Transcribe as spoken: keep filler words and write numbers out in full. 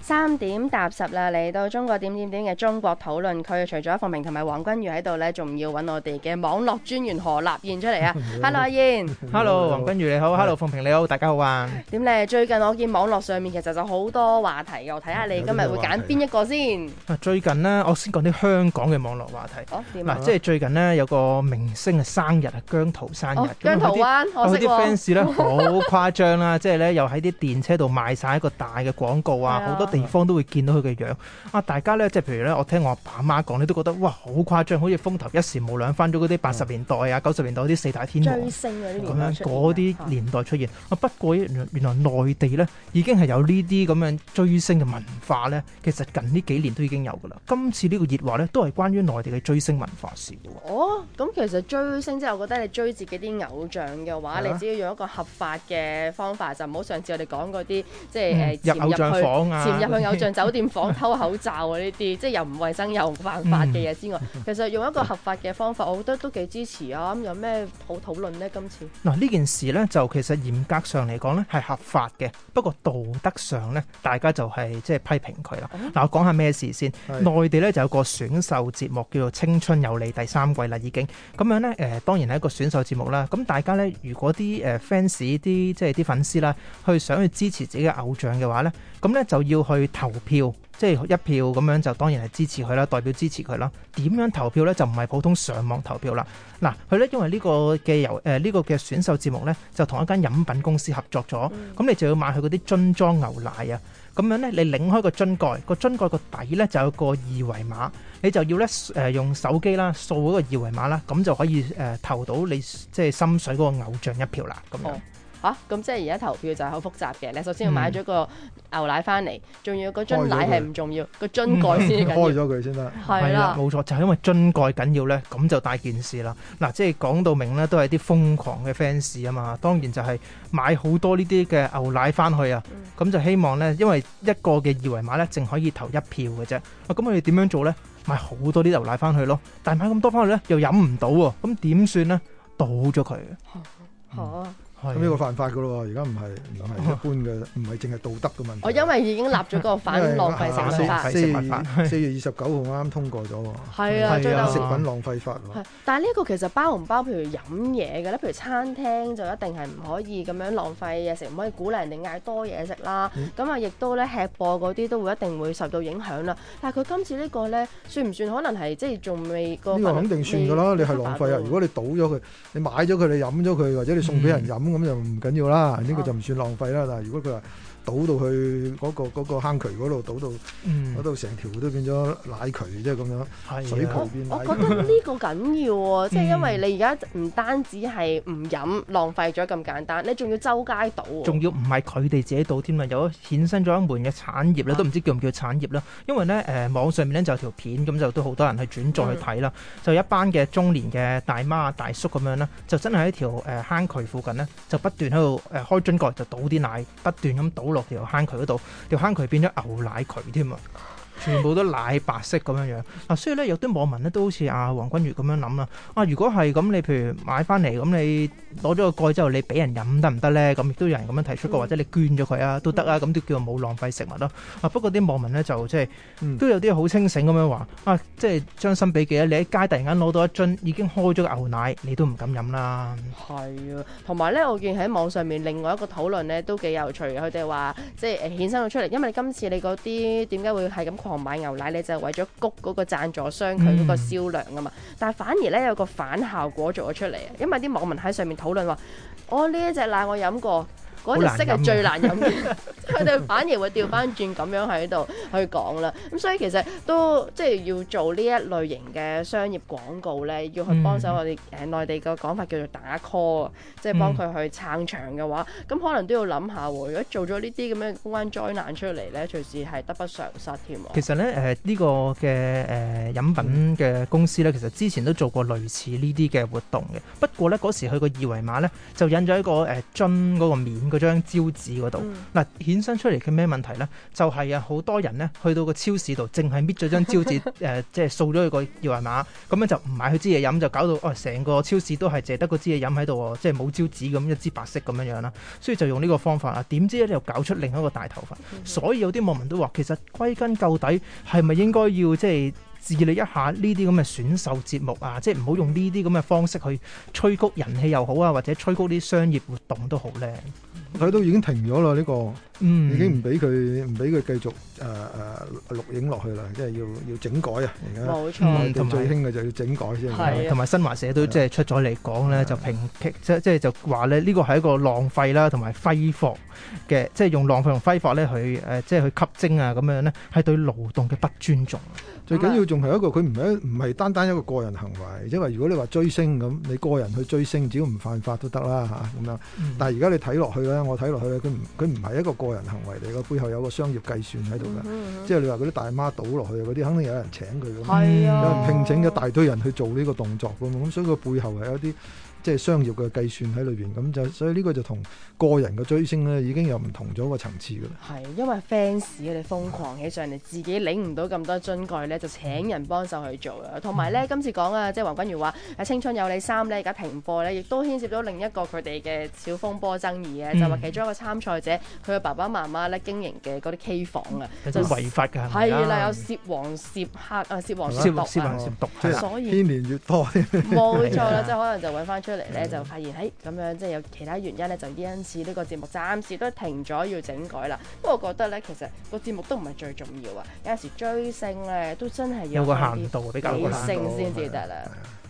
三點踏十啦，嚟到中國點點點嘅中國討論區，除咗鳳鳴同埋黃君如喺度呢，仲要揾我哋嘅網絡專員何立彥出嚟啊！Hello 阿彥 ，Hello 黃君如你好 ，Hello 鳳鳴你好，大家好啊！ 點咧？最近我見網絡上面其實就好多話題嘅，我睇下你今日會揀邊一個先。 最近呢，我先講啲香港嘅網絡話題。 哦，點啊？ 嗱，即係最近呢，有個明星嘅生日啊，姜濤生日。 哦，姜濤灣，我識喎。 啲 fans 咧好誇張啦，即係咧又喺啲電車度賣晒一個大嘅廣告啊，好多地方都會見到佢嘅樣啊！大家咧即係譬如咧，我聽我阿爸阿媽講，你都覺得哇好誇張，好似風頭一時無兩，翻咗嗰啲八十年代啊、九十年代嗰啲四大天王追星嗰啲咁樣嗰啲年代出現啊。不過原原來內地咧已經係有呢啲咁樣追星嘅文化咧，其實近呢幾年都已經有噶啦。今次呢個熱話咧都係關於內地嘅追星文化事嘅。 哦，咁其實追星即係我覺得你追自己啲偶像嘅話，你只要用一個合法嘅方法，就唔好上次我哋講嗰啲即係誒入偶像房啊， 潛入去偶像酒店房偷口罩啊呢啲，即係又唔衛生又唔犯法嘅嘢之外，嗯、其實用一個合法嘅方法，我覺得都幾支持啊！咁有咩好討論呢？今次嗱呢件事呢，就其實嚴格上嚟講呢係合法嘅，不過道德上呢，大家就係即係批評佢啦。嗱、嗯、我講下咩事先。內地呢就有個選秀節目叫做《青春有你》第三季啦，已經咁樣呢，誒、呃，當然係一個選秀節目啦。咁大家呢，如果啲誒 fans 啲即係啲粉絲啦，去想去支持自己嘅偶像嘅話呢，咁呢就要去投票。即係一票咁樣就當然係支持佢啦，代表支持佢啦。點樣投票呢？就唔係普通上網投票啦。嗱，佢呢因為呢個嘅由誒呢個嘅選秀節目呢，就同一間飲品公司合作咗，咁、嗯、你就要買佢嗰啲樽裝牛奶啊。咁樣呢，你擰開個樽蓋，個樽蓋個底呢就有個二維碼，你就要呢誒、呃、用手機啦掃嗰個二維碼啦，咁就可以誒、呃、投到你即係心水嗰個偶像一票啦。咁樣。 嚇，咁即係而家投票就係好複雜嘅。你首先要買咗個牛奶翻嚟，仲、嗯、要個樽奶係唔重要，個樽蓋先緊要。 開咗佢先得。 係啦， 冇錯，就係因為樽蓋緊要咧，咁就大件事啦。嗱，即係講到明咧，都係啲瘋狂嘅 fans 啊嘛。當然就係買好多呢啲嘅牛奶翻去啊，咁、嗯、就希望咧，因為一個嘅二維碼咧，淨可以投一票嘅啫。啊，咁我哋點樣做咧？買好多啲牛奶翻去咯，但係買咁多翻去咧，又飲唔到喎，咁點算咧？倒咗佢。嚇、 嗯！ 咁呢個犯法噶咯喎，而家唔係唔係一般嘅，唔係淨係道德嘅問題。 我因為已經立咗嗰個反浪費食品法， 四月四月二十九號啱啱通過咗喎。 係啊，最後食品浪費法喎。 但係呢個其實包唔包譬如飲嘢嘅咧？譬如餐廳就一定係唔可以咁樣浪費嘢食，唔可以鼓勵人哋嗌多嘢食啦。咁啊、嗯，亦都咧吃播嗰啲都會一定會受到影響啦。但係佢今次呢個咧，算唔算可能係即係仲未個？呢個肯定算㗎啦，你係浪費啊！如果你倒咗佢，你買咗佢，你飲咗佢，或者你送俾人飲。嗯咁就唔緊要啦，呢、這個就唔算浪費啦。但係如果佢話倒到去嗰、那個那個坑渠嗰度，倒到嗰度成條都變咗奶渠，即係咁樣，水渠變奶渠。 我覺得呢個緊要喎，即係因為你而家唔單止係唔飲浪費咗咁簡單，你仲要周街倒喎。仲要唔係佢哋自己倒添啊，有衍生咗一門嘅產業咧，都唔知叫唔叫產業啦。因為咧誒、呃、網上面咧就有條片，咁就都好多人去轉載去睇啦。嗯、就一班嘅中年嘅大媽大叔咁樣啦，就真係喺條誒坑渠附近呢，就不斷喺度誒開樽蓋就倒啲奶，不斷咁倒落條坑渠嗰度，條坑渠變咗牛奶渠添啊！全部都奶白色咁樣樣啊，所以咧有啲網民咧都好似阿黃君如咁樣諗啦。啊，如果係咁，你譬如買翻嚟咁，你攞咗個蓋之後，你俾人飲得唔得咧？咁亦都有人咁樣提出過，嗯、或者你捐咗佢啊都得啊，咁都叫做冇浪費食物咯。啊，不過啲網民咧就即係、嗯、都有啲好清醒咁樣話啊，即係將心比己啊！你喺街突然間攞到一樽已經開咗個牛奶，你都唔敢飲啦。 係啊，同埋咧，我見喺網上面另外一個討論咧都幾有趣嘅，佢哋話即係誒衍生咗出嚟，因為今次你嗰啲點解會係咁狂買牛奶，你就係為咗谷嗰個贊助商佢嗰個銷量啊嘛，嗯、但係反而咧有個反效果做咗出嚟啊，因為啲網民喺上面討論話，我呢一隻奶我飲過。嗰隻色係最難飲嘅，佢哋反而會調翻轉咁樣喺度去講啦。咁所以其實都即係要做呢一類型嘅商業廣告咧，要去幫手我哋誒內地個講法叫做打 call，即係幫佢去撐場嘅話，咁、嗯、可能都要諗下喎。如果做咗呢啲咁樣公關災難出嚟咧，隨時係得不償失添。 其實咧誒呢、呃呢個嘅誒、呃、飲品嘅公司咧，其實之前都做過類似呢啲嘅活動嘅。不過咧嗰時佢個二維碼咧就印咗一個誒樽嗰個面。 嗰張招紙嗰度。嗱、嗯，衍生出嚟嘅咩問題咧？就係、是、啊，好多人咧去到個超市度，淨係搣咗張招紙，誒、呃，即係掃咗佢個二維碼，咁樣就唔買佢支嘢飲，就搞到哦，成個超市都係淨係得個支嘢飲喺度喎，即係冇招紙咁一支白色咁樣樣啦。所以就用呢個方法啊，點知咧又搞出另一個大頭佛。嗯、所以有啲網民都話，其實歸根究底係咪應該要即係治理一下呢啲咁嘅選秀節目啊，即係唔好用呢啲咁嘅方式去催谷人氣又好啊，或者催谷啲商業活動都好咧。 佢都已經停咗啦，呢、這個， 嗯、 已經唔俾佢唔俾佢繼續誒誒、呃、錄影落去啦，即係要要整改啊！而家冇錯， 同最興嘅就要整改先。 係，同埋新華社都即係出咗嚟講咧，就評擊即即係就話咧，呢個係一個浪費啦，同埋揮霍嘅，即係用浪費同揮霍咧去誒，即係去吸睛啊咁樣咧，係對勞動嘅不尊重。 最緊要仲係一個佢唔係唔係單單一個個人行為，因為如果你話追星咁，你個人去追星，只要唔犯法都得啦嚇咁樣。嗯、但係而家你睇落去咧，我睇落去咧，佢唔佢唔係一個個人行為嚟嘅，背後有個商業計算喺度嘅。嗯嗯、即係你話嗰啲大媽倒落去嗰啲，肯定有人請佢嘅， 係啊、 有人聘請一大堆人去做呢個動作嘅嘛。咁所以個背後係有啲即係商業嘅計算喺裏邊。咁就所以呢個就同個人嘅追星咧已經有唔同咗個層次嘅啦。 係因為 fans 佢哋瘋狂起上嚟，自己領唔到咁多樽蓋咧，就請人幫手去做啦。同埋咧，今次講啊，即係黃君如話《青春有你三》咧，而家停課咧，亦都牽涉到另一個佢哋嘅小風波爭議啊，嗯、就話其中一個參賽者佢嘅爸爸媽媽咧經營嘅嗰啲 K 房啊， 就違法㗎， 係啦，有涉黃涉黑啊，涉黃涉毒啊， 涉黃涉毒， 所以牽連越多， 冇錯啦，即係可能就揾翻出嚟咧，就發現喺咁樣即係有其他原因咧，就因此呢個節目暫時都停咗要整改啦。不過我覺得咧，其實個節目都唔係最重要啊，有陣時追星咧都真係要有個限度，比較理性先至得啦。